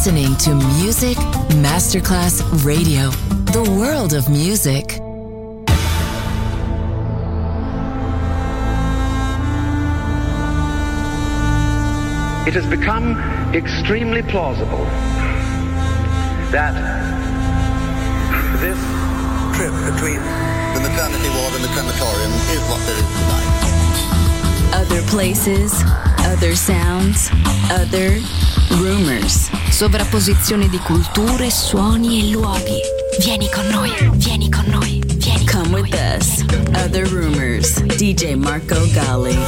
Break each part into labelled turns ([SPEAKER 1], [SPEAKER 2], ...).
[SPEAKER 1] listening to Music Masterclass Radio, the world of music.
[SPEAKER 2] It has become extremely plausible that this trip between
[SPEAKER 3] the maternity ward and the crematorium is what there is tonight.
[SPEAKER 1] Other places, other sounds, other rumors.
[SPEAKER 4] Sovrapposizione di culture, suoni e luoghi. Vieni con noi, vieni con noi, vieni con
[SPEAKER 1] Come
[SPEAKER 4] noi.
[SPEAKER 1] with us. Other rumors. DJ Marco Gally.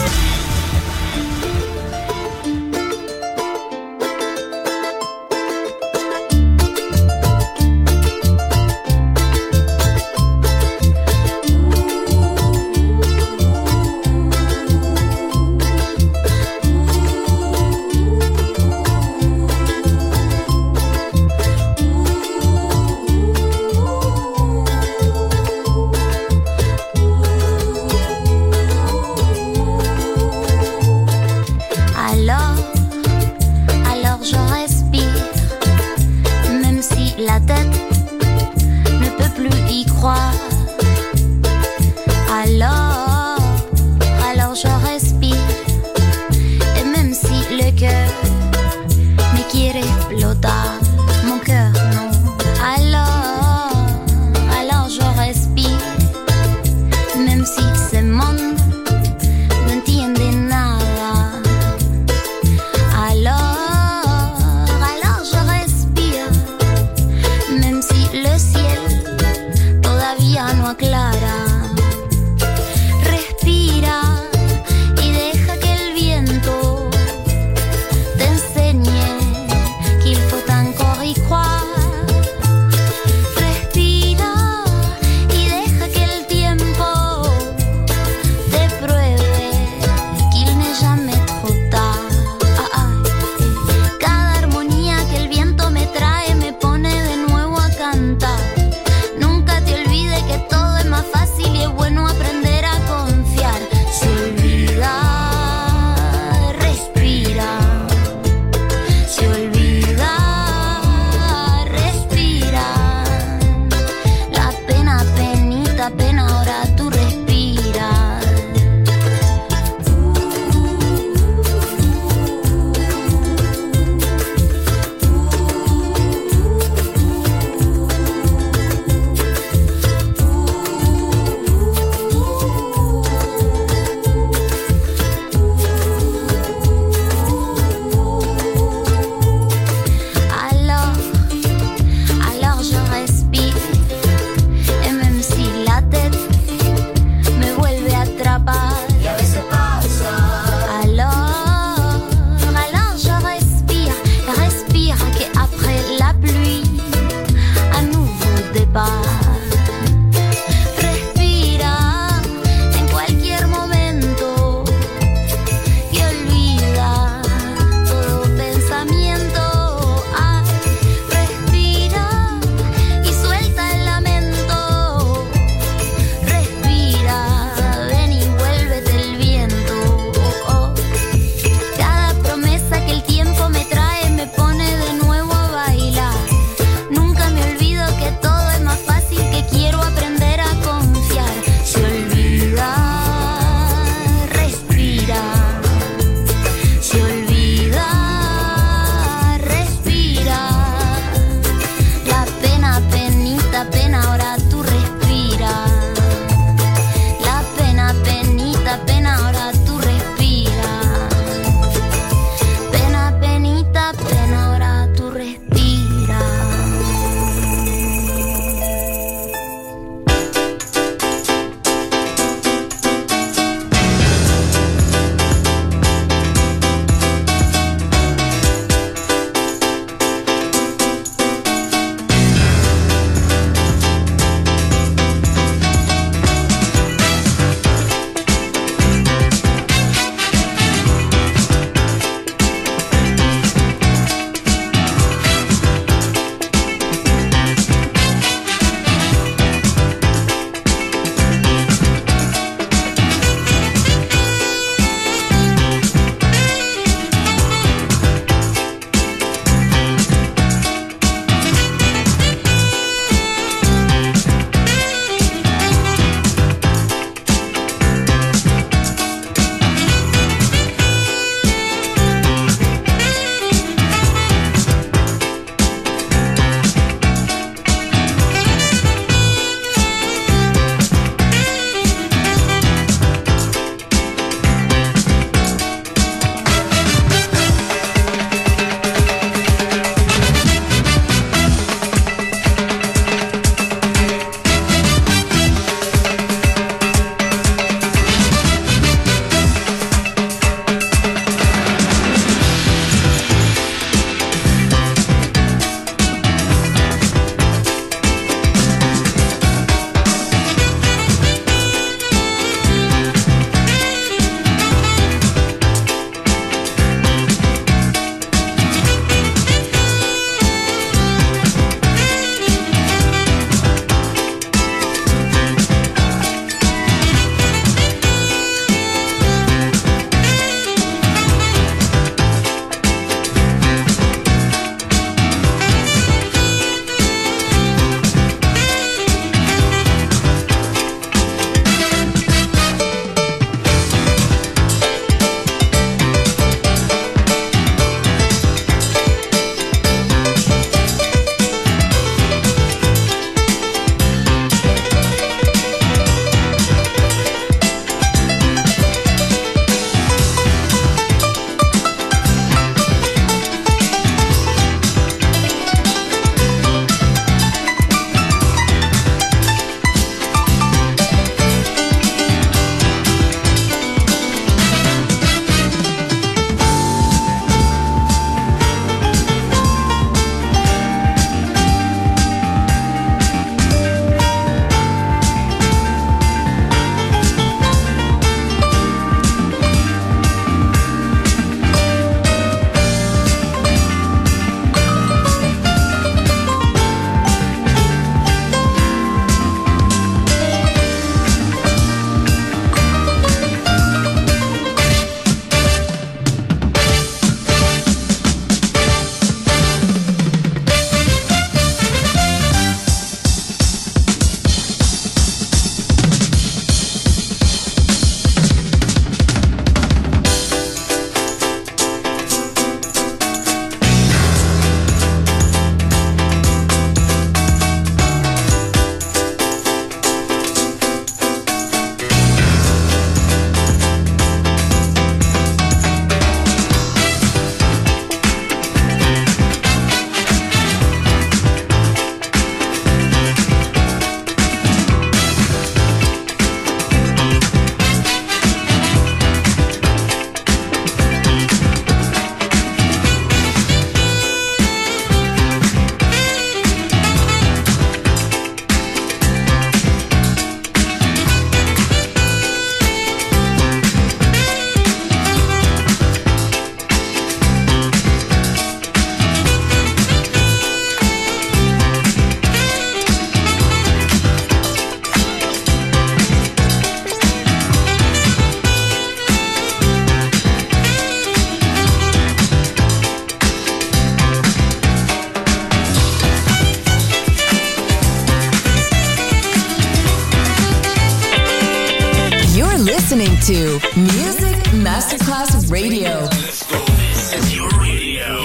[SPEAKER 1] to Music Masterclass Radio.
[SPEAKER 5] Let's go. This is your radio.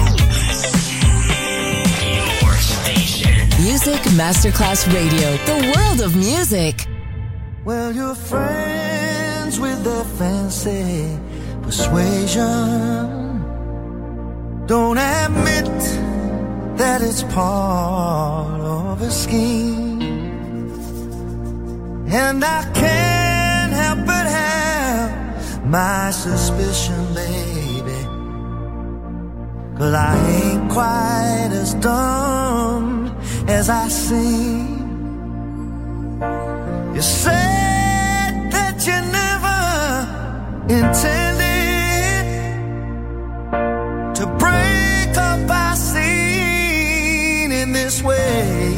[SPEAKER 5] Your station.
[SPEAKER 1] Music Masterclass Radio. The world of music.
[SPEAKER 6] Well, you're friends with the fancy persuasion. Don't admit that it's part of a scheme. And I can't help but have my suspicion, baby, 'cause I ain't quite as dumb as I seem. You said that you never intended to break up our scene in this way.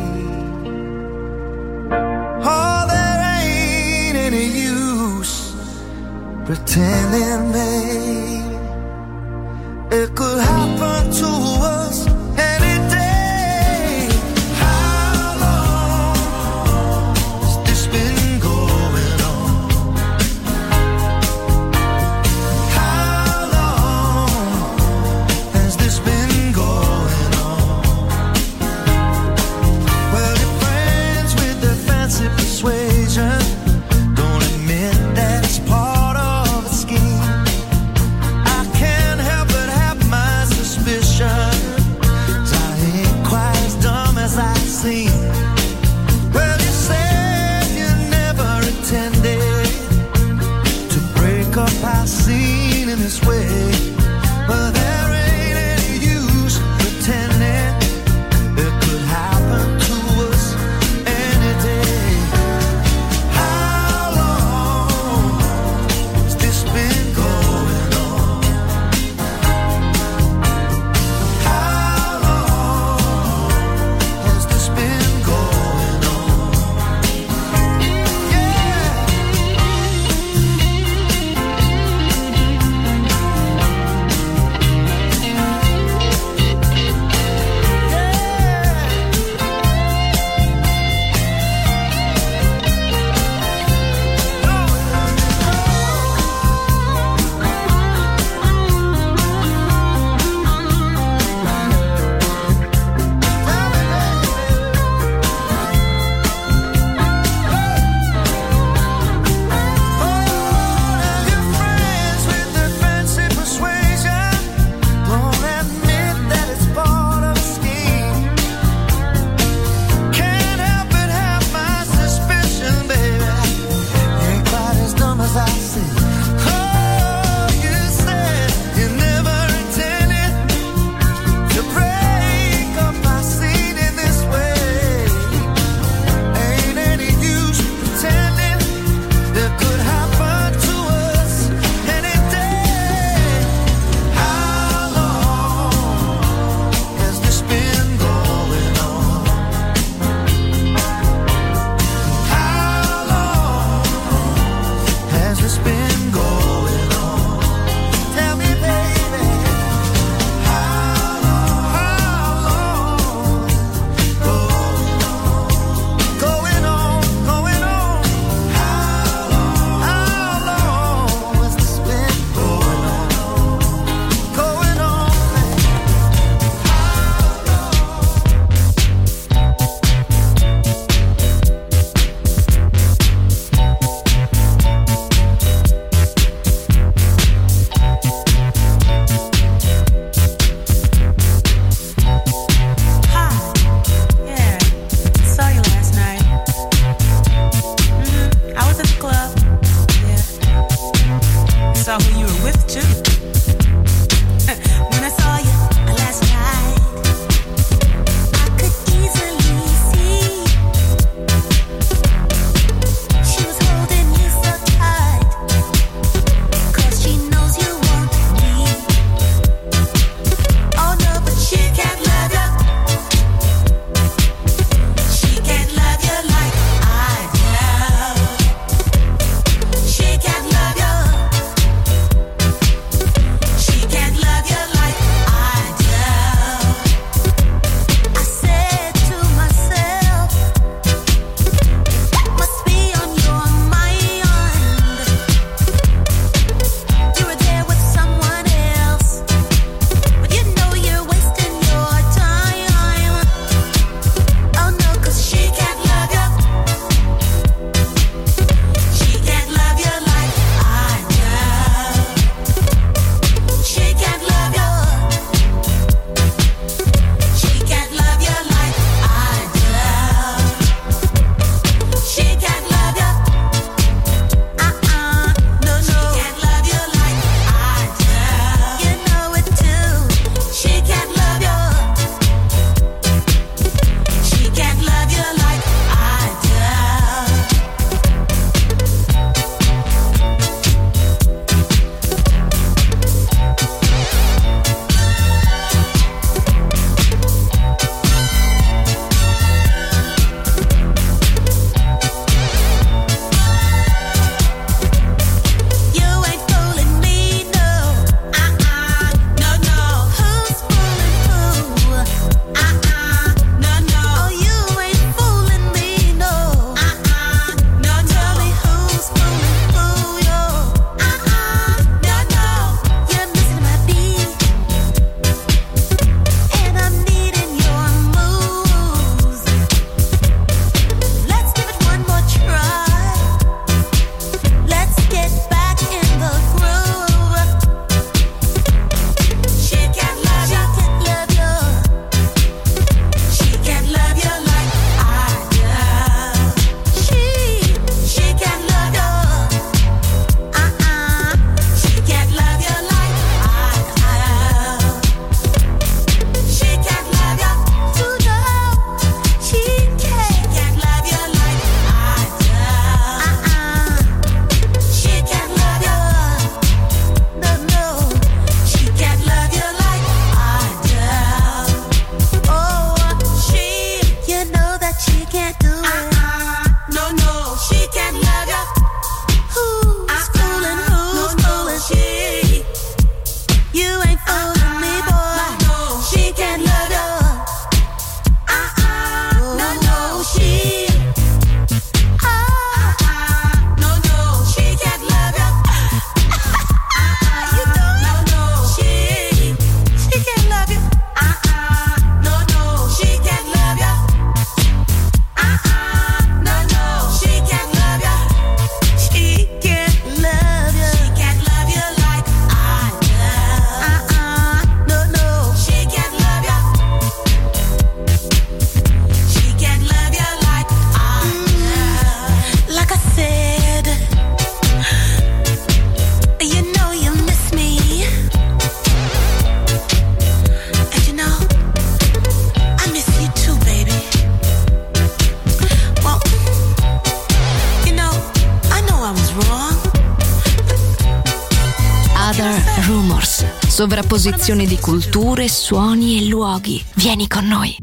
[SPEAKER 6] Oh, there ain't any use pretending, babe. It could happen to us any day. How long has this been going on? How long has this been going on? Well, you're friends with the fancy persuasion. Don't admit that it's part of a scheme. I can't help but have my suspicion.
[SPEAKER 4] sovrapposizione di culture, suoni e luoghi. Vieni con noi.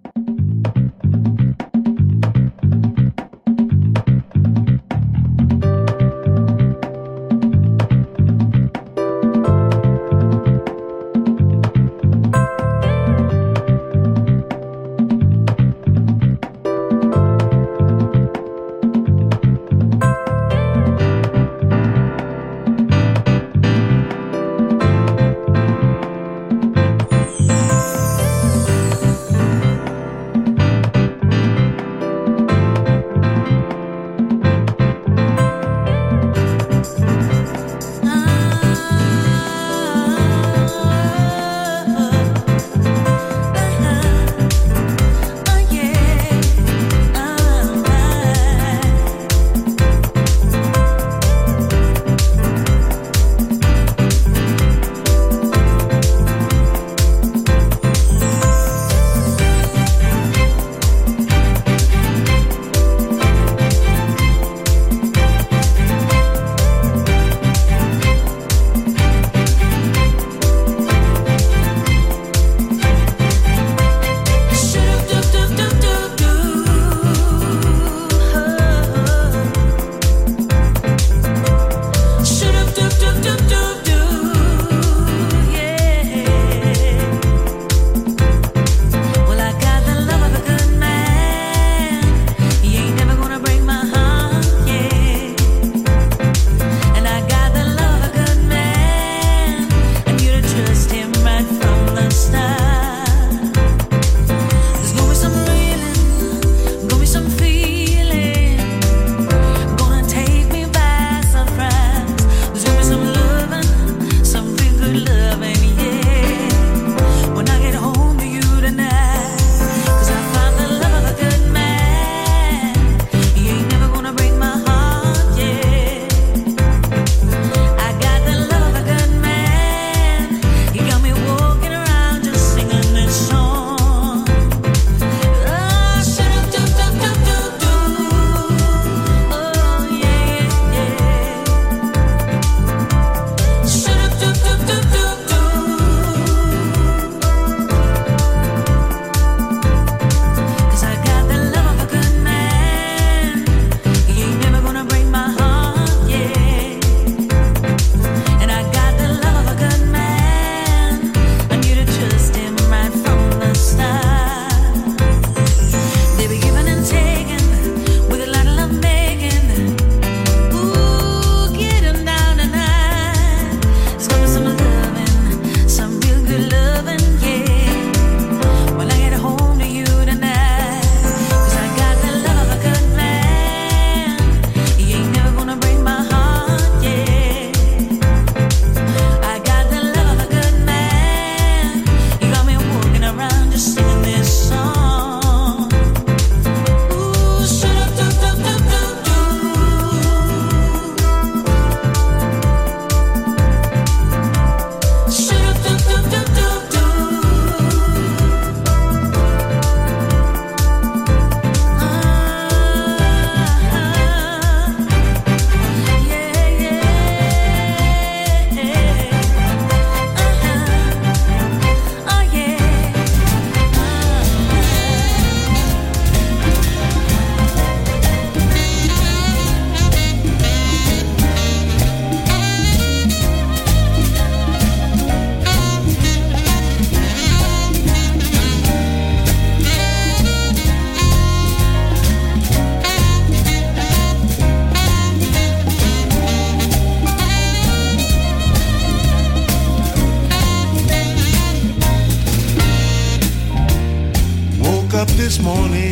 [SPEAKER 6] up this morning,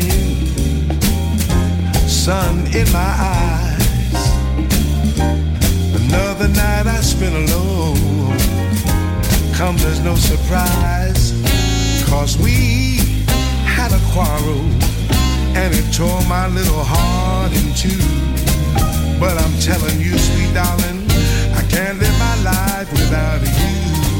[SPEAKER 6] sun in my eyes. Another night I spent alone. Come, there's no surprise, 'cause we had a quarrel and it tore my little heart in two. But I'm telling you, sweet darling, I can't live my life without you.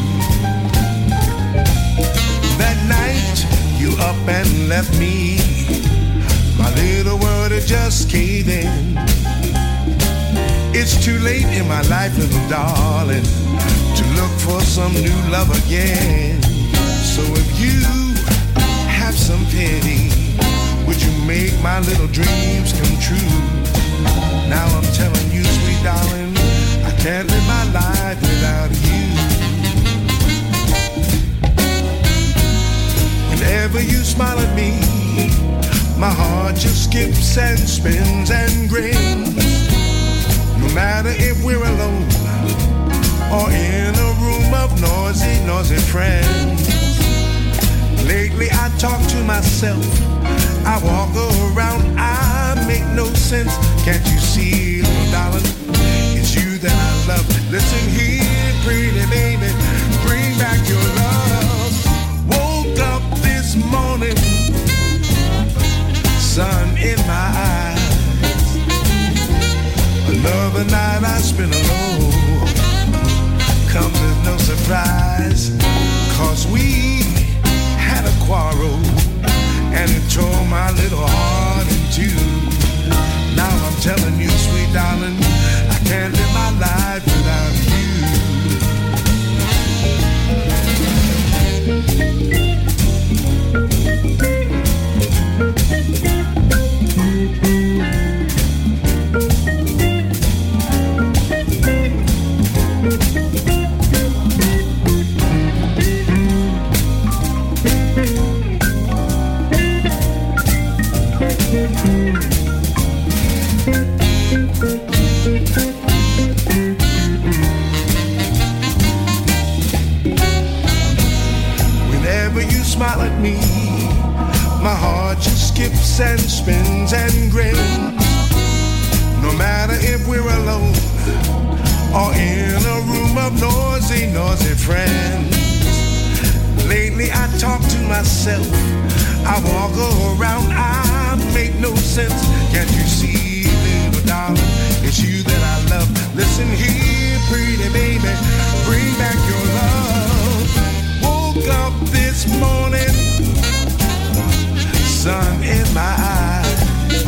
[SPEAKER 6] That night you up and left me, my little world had just caved in. It's too late in my life, little darling, to look for some new love again. So if you have some pity, would you make my little dreams come true? Now I'm telling you, sweet darling, I can't live my life without you. Whenever you smile at me, my heart just skips and spins and grins. No matter if we're alone or in a room of noisy, noisy friends. Lately I talk to myself, I walk around, I make no sense. Can't you see, little darling, it's you that I love. Listen here, pretty baby, bring back your love. Woke up this morning, sun in my eyes. Another night I spent alone, comes as no surprise. Cause we had a quarrel, and it tore my little heart in two. Now I'm telling you, sweet darling, I can't live my life without you. Whenever you smile at me, my heart just skips and spins and grins. No matter if we're alone or in a room of noisy, noisy friends. Lately I talk to myself, I walk around, I make no sense. Can't you see, little darling, it's you that I love. Listen here, pretty baby, bring back your love. Woke up this morning, sun in my eyes.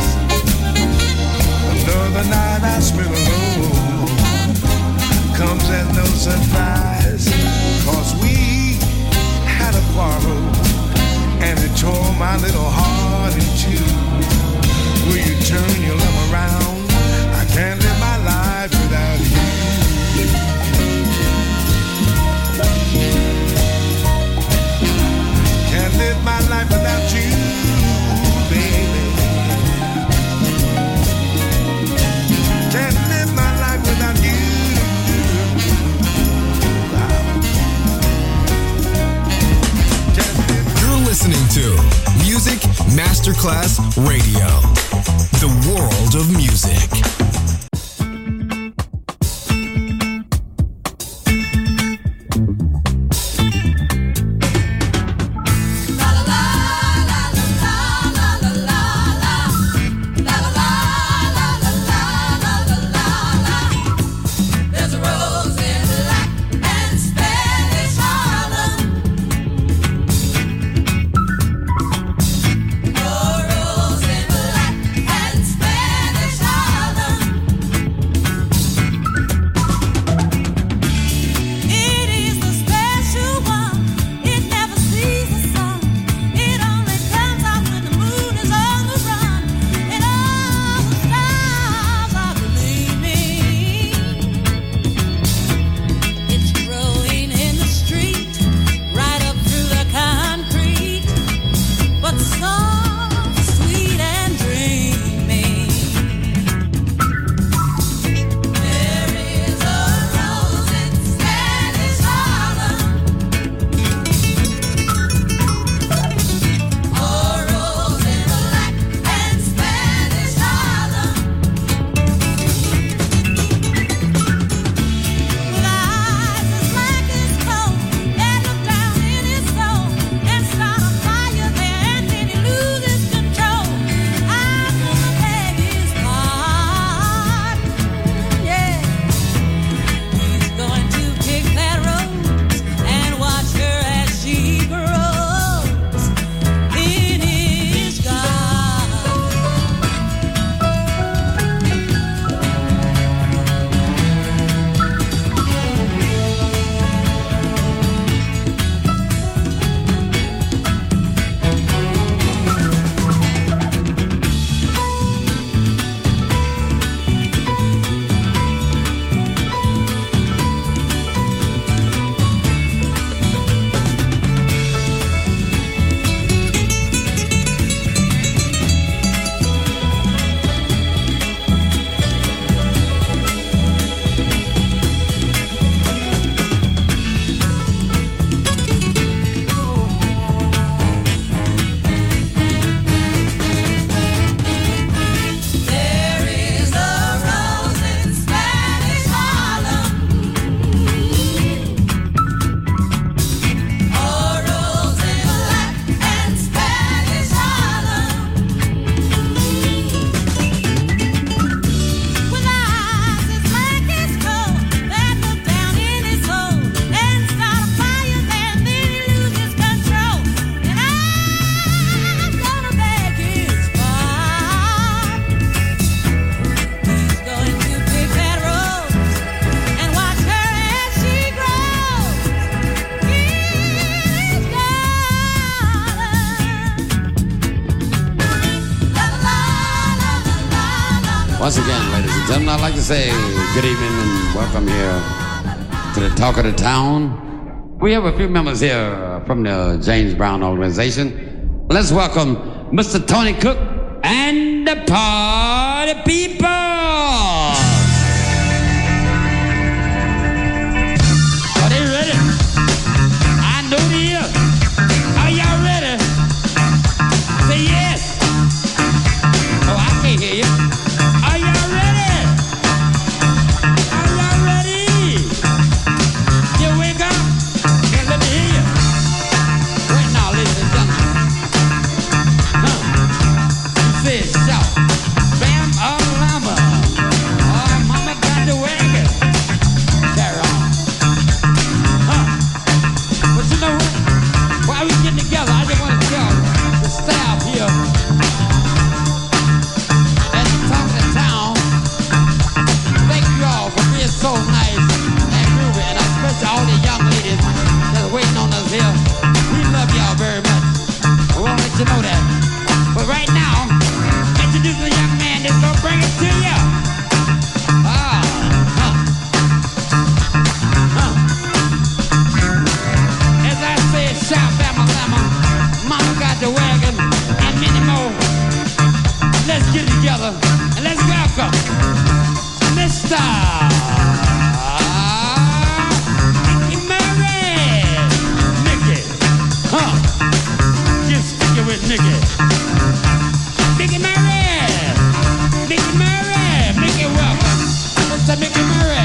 [SPEAKER 6] Another night I spent alone, comes as no surprise. Cause we had a quarrel, and it tore my little heart in two. Will you turn your love around? I can't live my life without you. Can't live my life without you, baby. Can't live my life without you.
[SPEAKER 7] You're listening to Music Masterclass Radio, the world of music.
[SPEAKER 8] Spanish Harlem. Once again, ladies and gentlemen, I'd like to say good evening and welcome here to the Talk of the Town. We have a few members here from the James Brown organization. Let's welcome Mr. Tony Cook and the Party People. Are they ready? I know they are. Are y'all ready? Say yes. Oh, I can't hear you. Are y'all ready? Are y'all ready? You wake up and let me hear you. Right now, ladies and gentlemen. You say shout. Bam, lama. Oh, mama got the wagon. Carry on. But you know what? While we getting together, I just want to tell the staff here at the Talk of the Town, thank you all for being so nice and groovy, and especially all the young ladies that's waiting on us here. We love y'all very much. We want to let you know that. But right now, introduce the young man that's gonna bring it to you. As I said, shout, bama, lama, mama got the wagon, and many more. Let's get together and let's welcome Mr. Mickey Murray. Mickey, just stick it with Mickey. Mickey Murray, Mickey Murray, Mickey, welcome, Mr. Mickey Murray.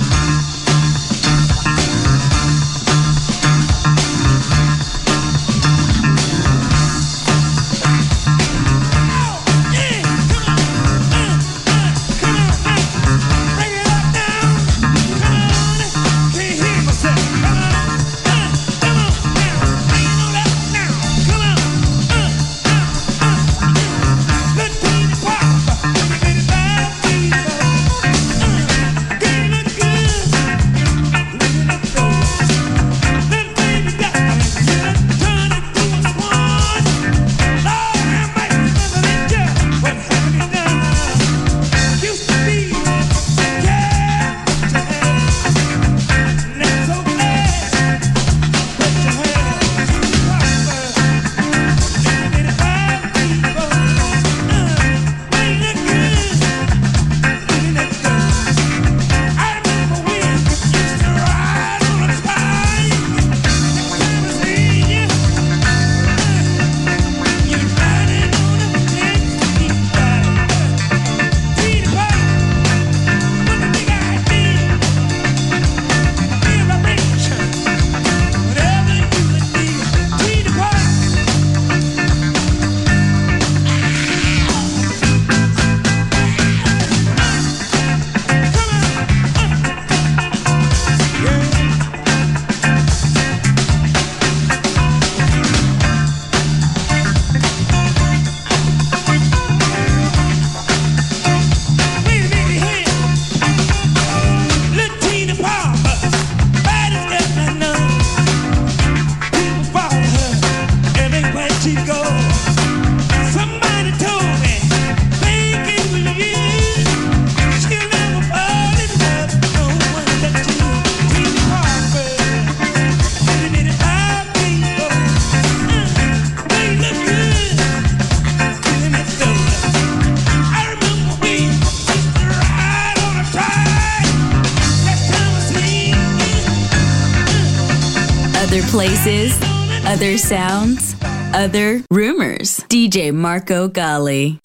[SPEAKER 4] Other places, other sounds, other rumors. DJ Marco Gally.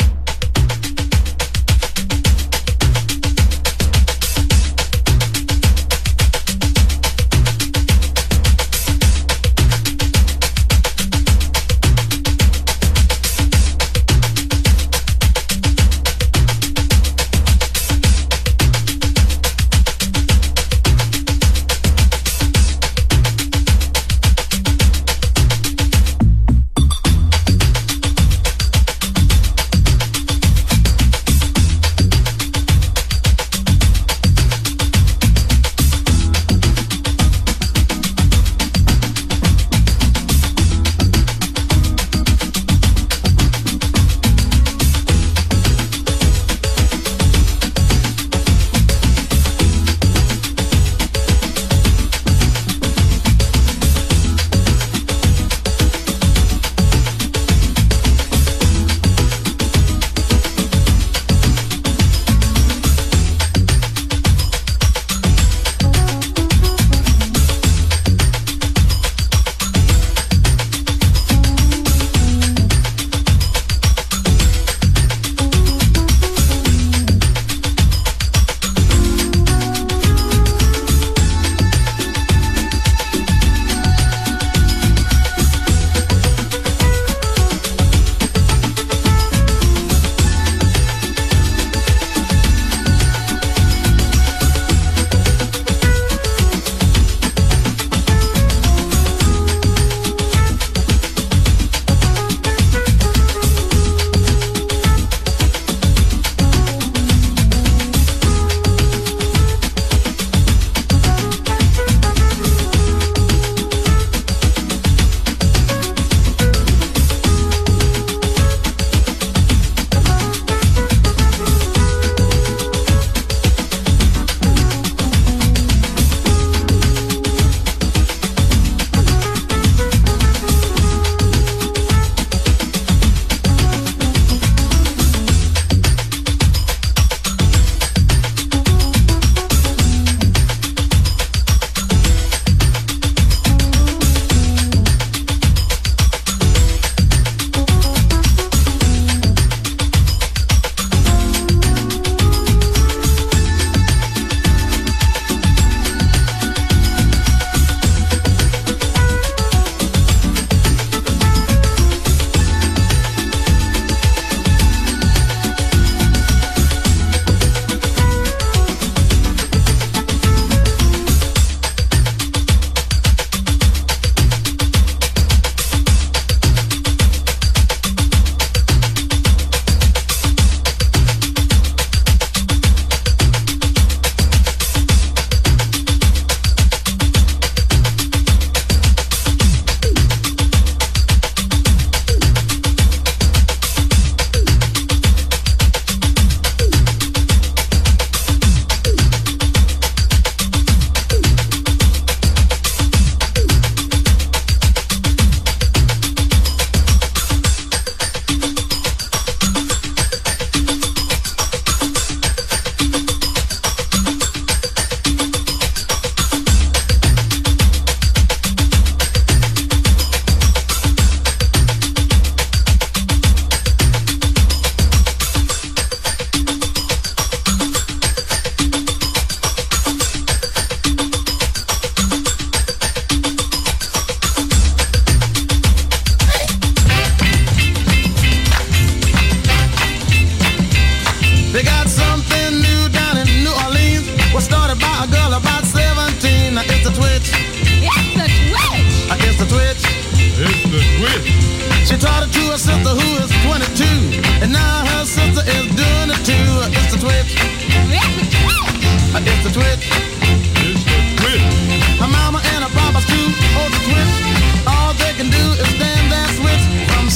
[SPEAKER 9] She taught it to her sister who is 22, and now her sister is doing it too. It's the twitch. It's the twitch.
[SPEAKER 10] It's the twitch.
[SPEAKER 9] Her mama and her papa's too old to twitch. All they can do is stand and switch from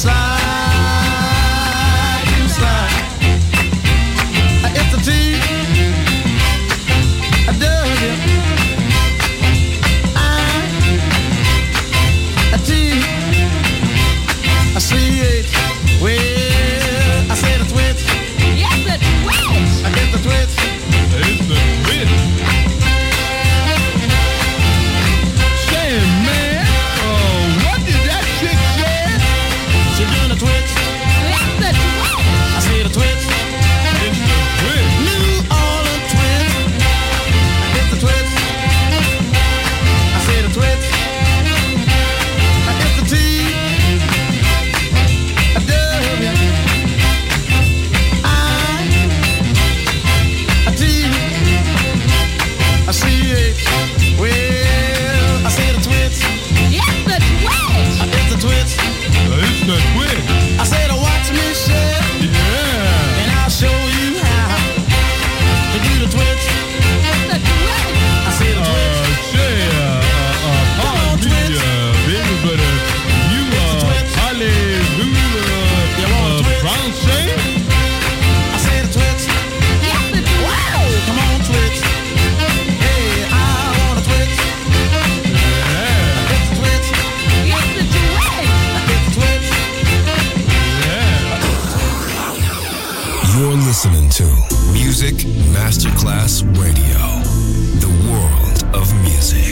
[SPEAKER 9] side to side. It's the T, a W, I, a T, a C-H. Well, I said a twitch.
[SPEAKER 4] Yes, the twitch.
[SPEAKER 9] I get the twitch.
[SPEAKER 10] It's the twitch. Say, man, what did that chick say?
[SPEAKER 9] She doing a twitch.
[SPEAKER 4] Yes, the twitch.
[SPEAKER 9] I said a twitch.
[SPEAKER 10] It's the twitch.
[SPEAKER 9] New Orleans twitch. I get the twitch. I said a twitch. I get the T, a W, I, a T, a C-H. Well, I said a twitch.
[SPEAKER 4] Yes, the twitch.
[SPEAKER 9] I get the twitch.
[SPEAKER 10] It's the twitch.
[SPEAKER 9] I said, watch me, chef,
[SPEAKER 10] Yeah.
[SPEAKER 9] and I'll show you how to do the twitch.
[SPEAKER 4] Yes, the twitch.
[SPEAKER 9] I said a twitch.
[SPEAKER 10] Pardon me, baby, but you hallelujah, Francais?
[SPEAKER 9] I said a twitch.
[SPEAKER 4] Yes, the twitch.
[SPEAKER 9] Wow, come on, twitch. Hey, I want a twitch.
[SPEAKER 10] Yeah.
[SPEAKER 9] I get the twitch.
[SPEAKER 4] Yes, the twitch.
[SPEAKER 9] I get the twitch.
[SPEAKER 10] Yeah.
[SPEAKER 7] You're listening to Music Masterclass Radio, the world of music.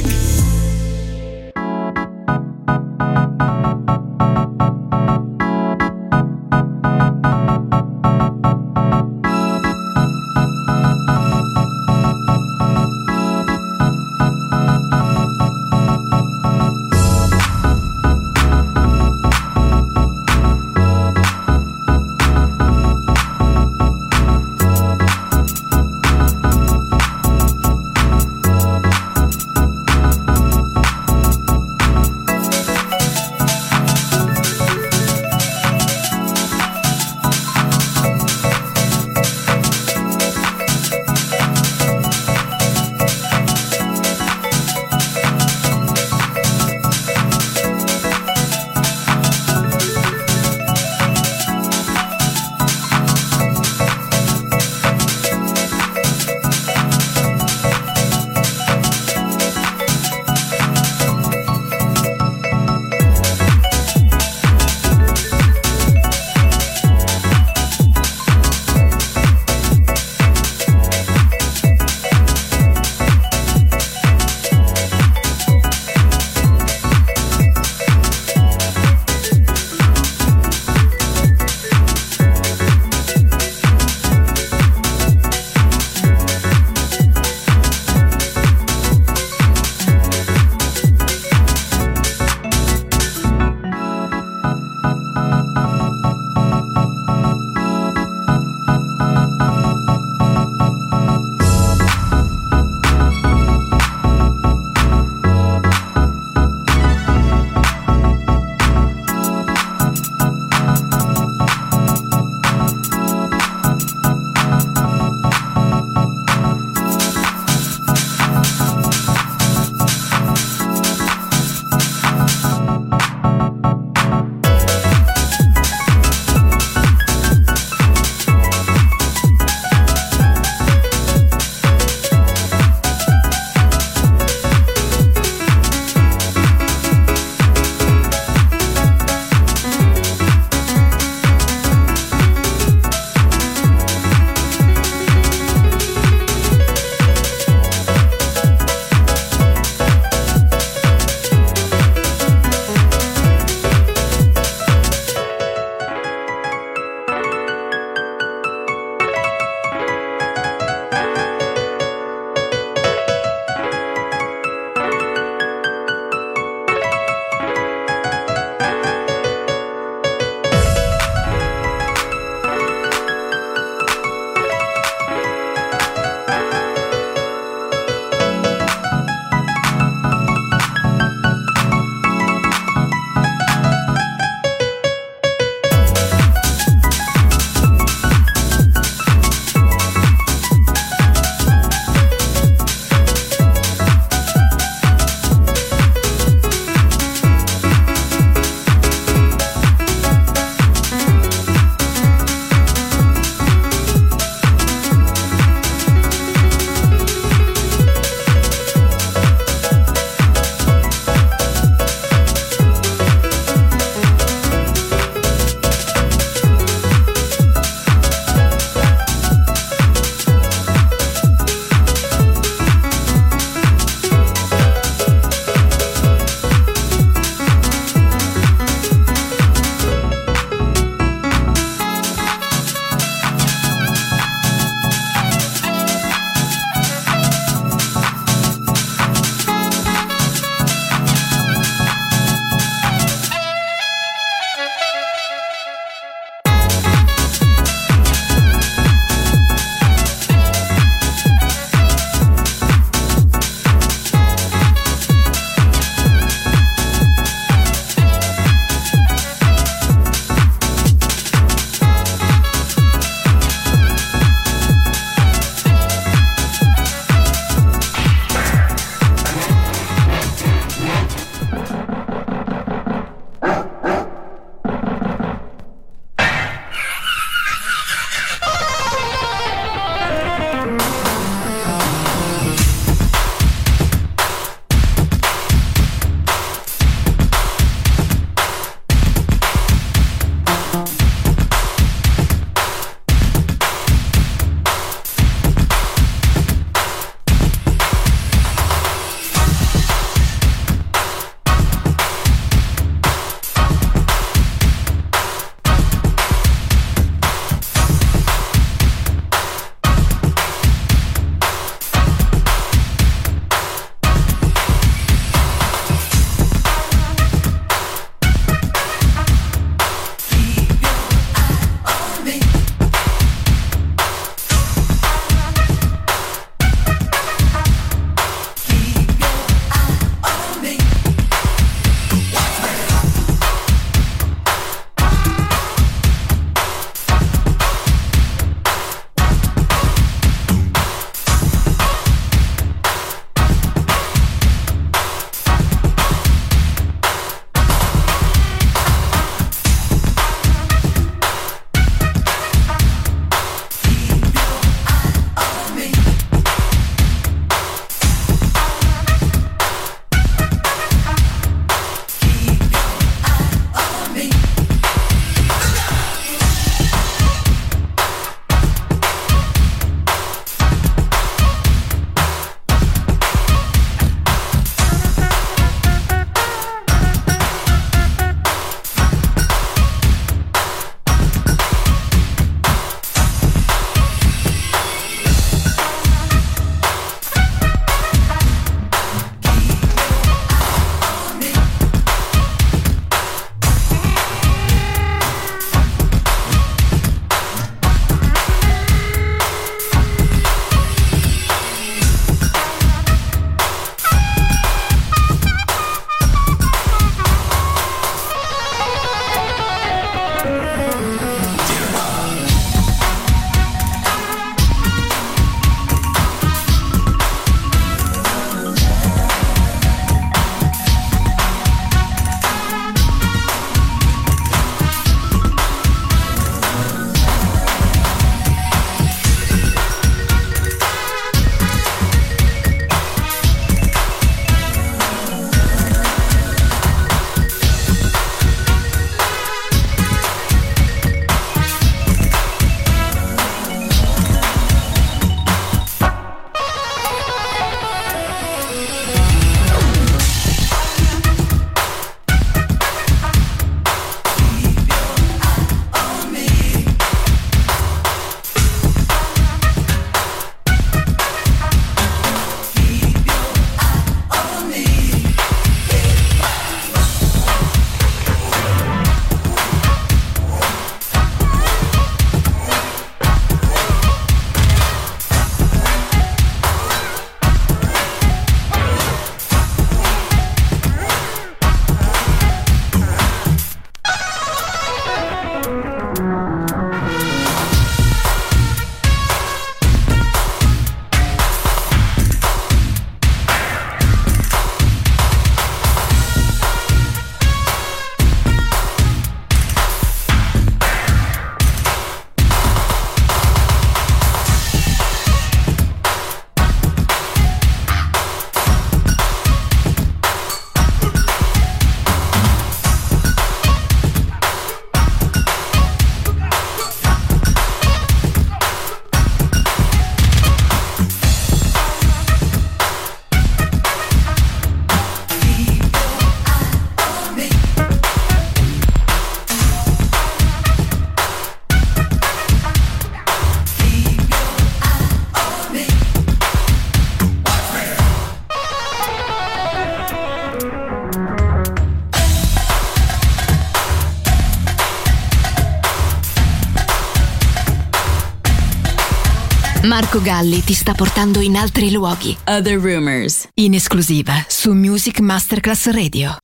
[SPEAKER 4] Marco Galli ti sta portando in altri luoghi.
[SPEAKER 1] Other Rumors.
[SPEAKER 4] In esclusiva su Music Masterclass Radio.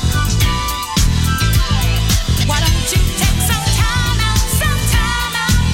[SPEAKER 11] Why don't you take some time out?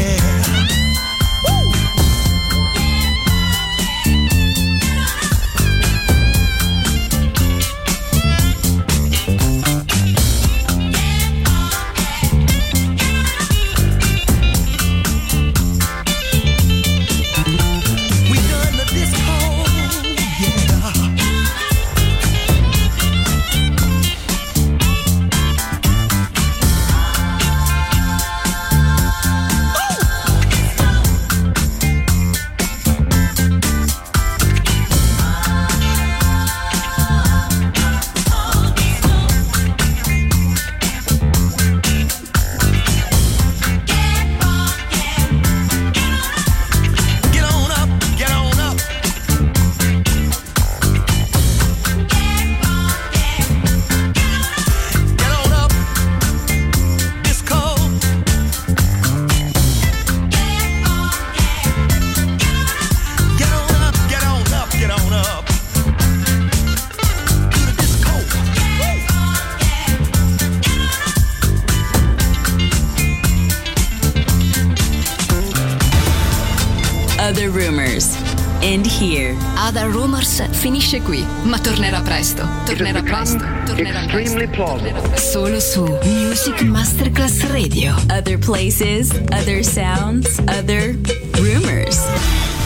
[SPEAKER 1] Other Rumors. End here.
[SPEAKER 4] Other Rumors finisce qui, ma tornerà presto. Tornerà presto. Tornerà
[SPEAKER 2] Extremely plausible.
[SPEAKER 1] Solo su Music Masterclass Radio. Other places, other sounds, other rumors.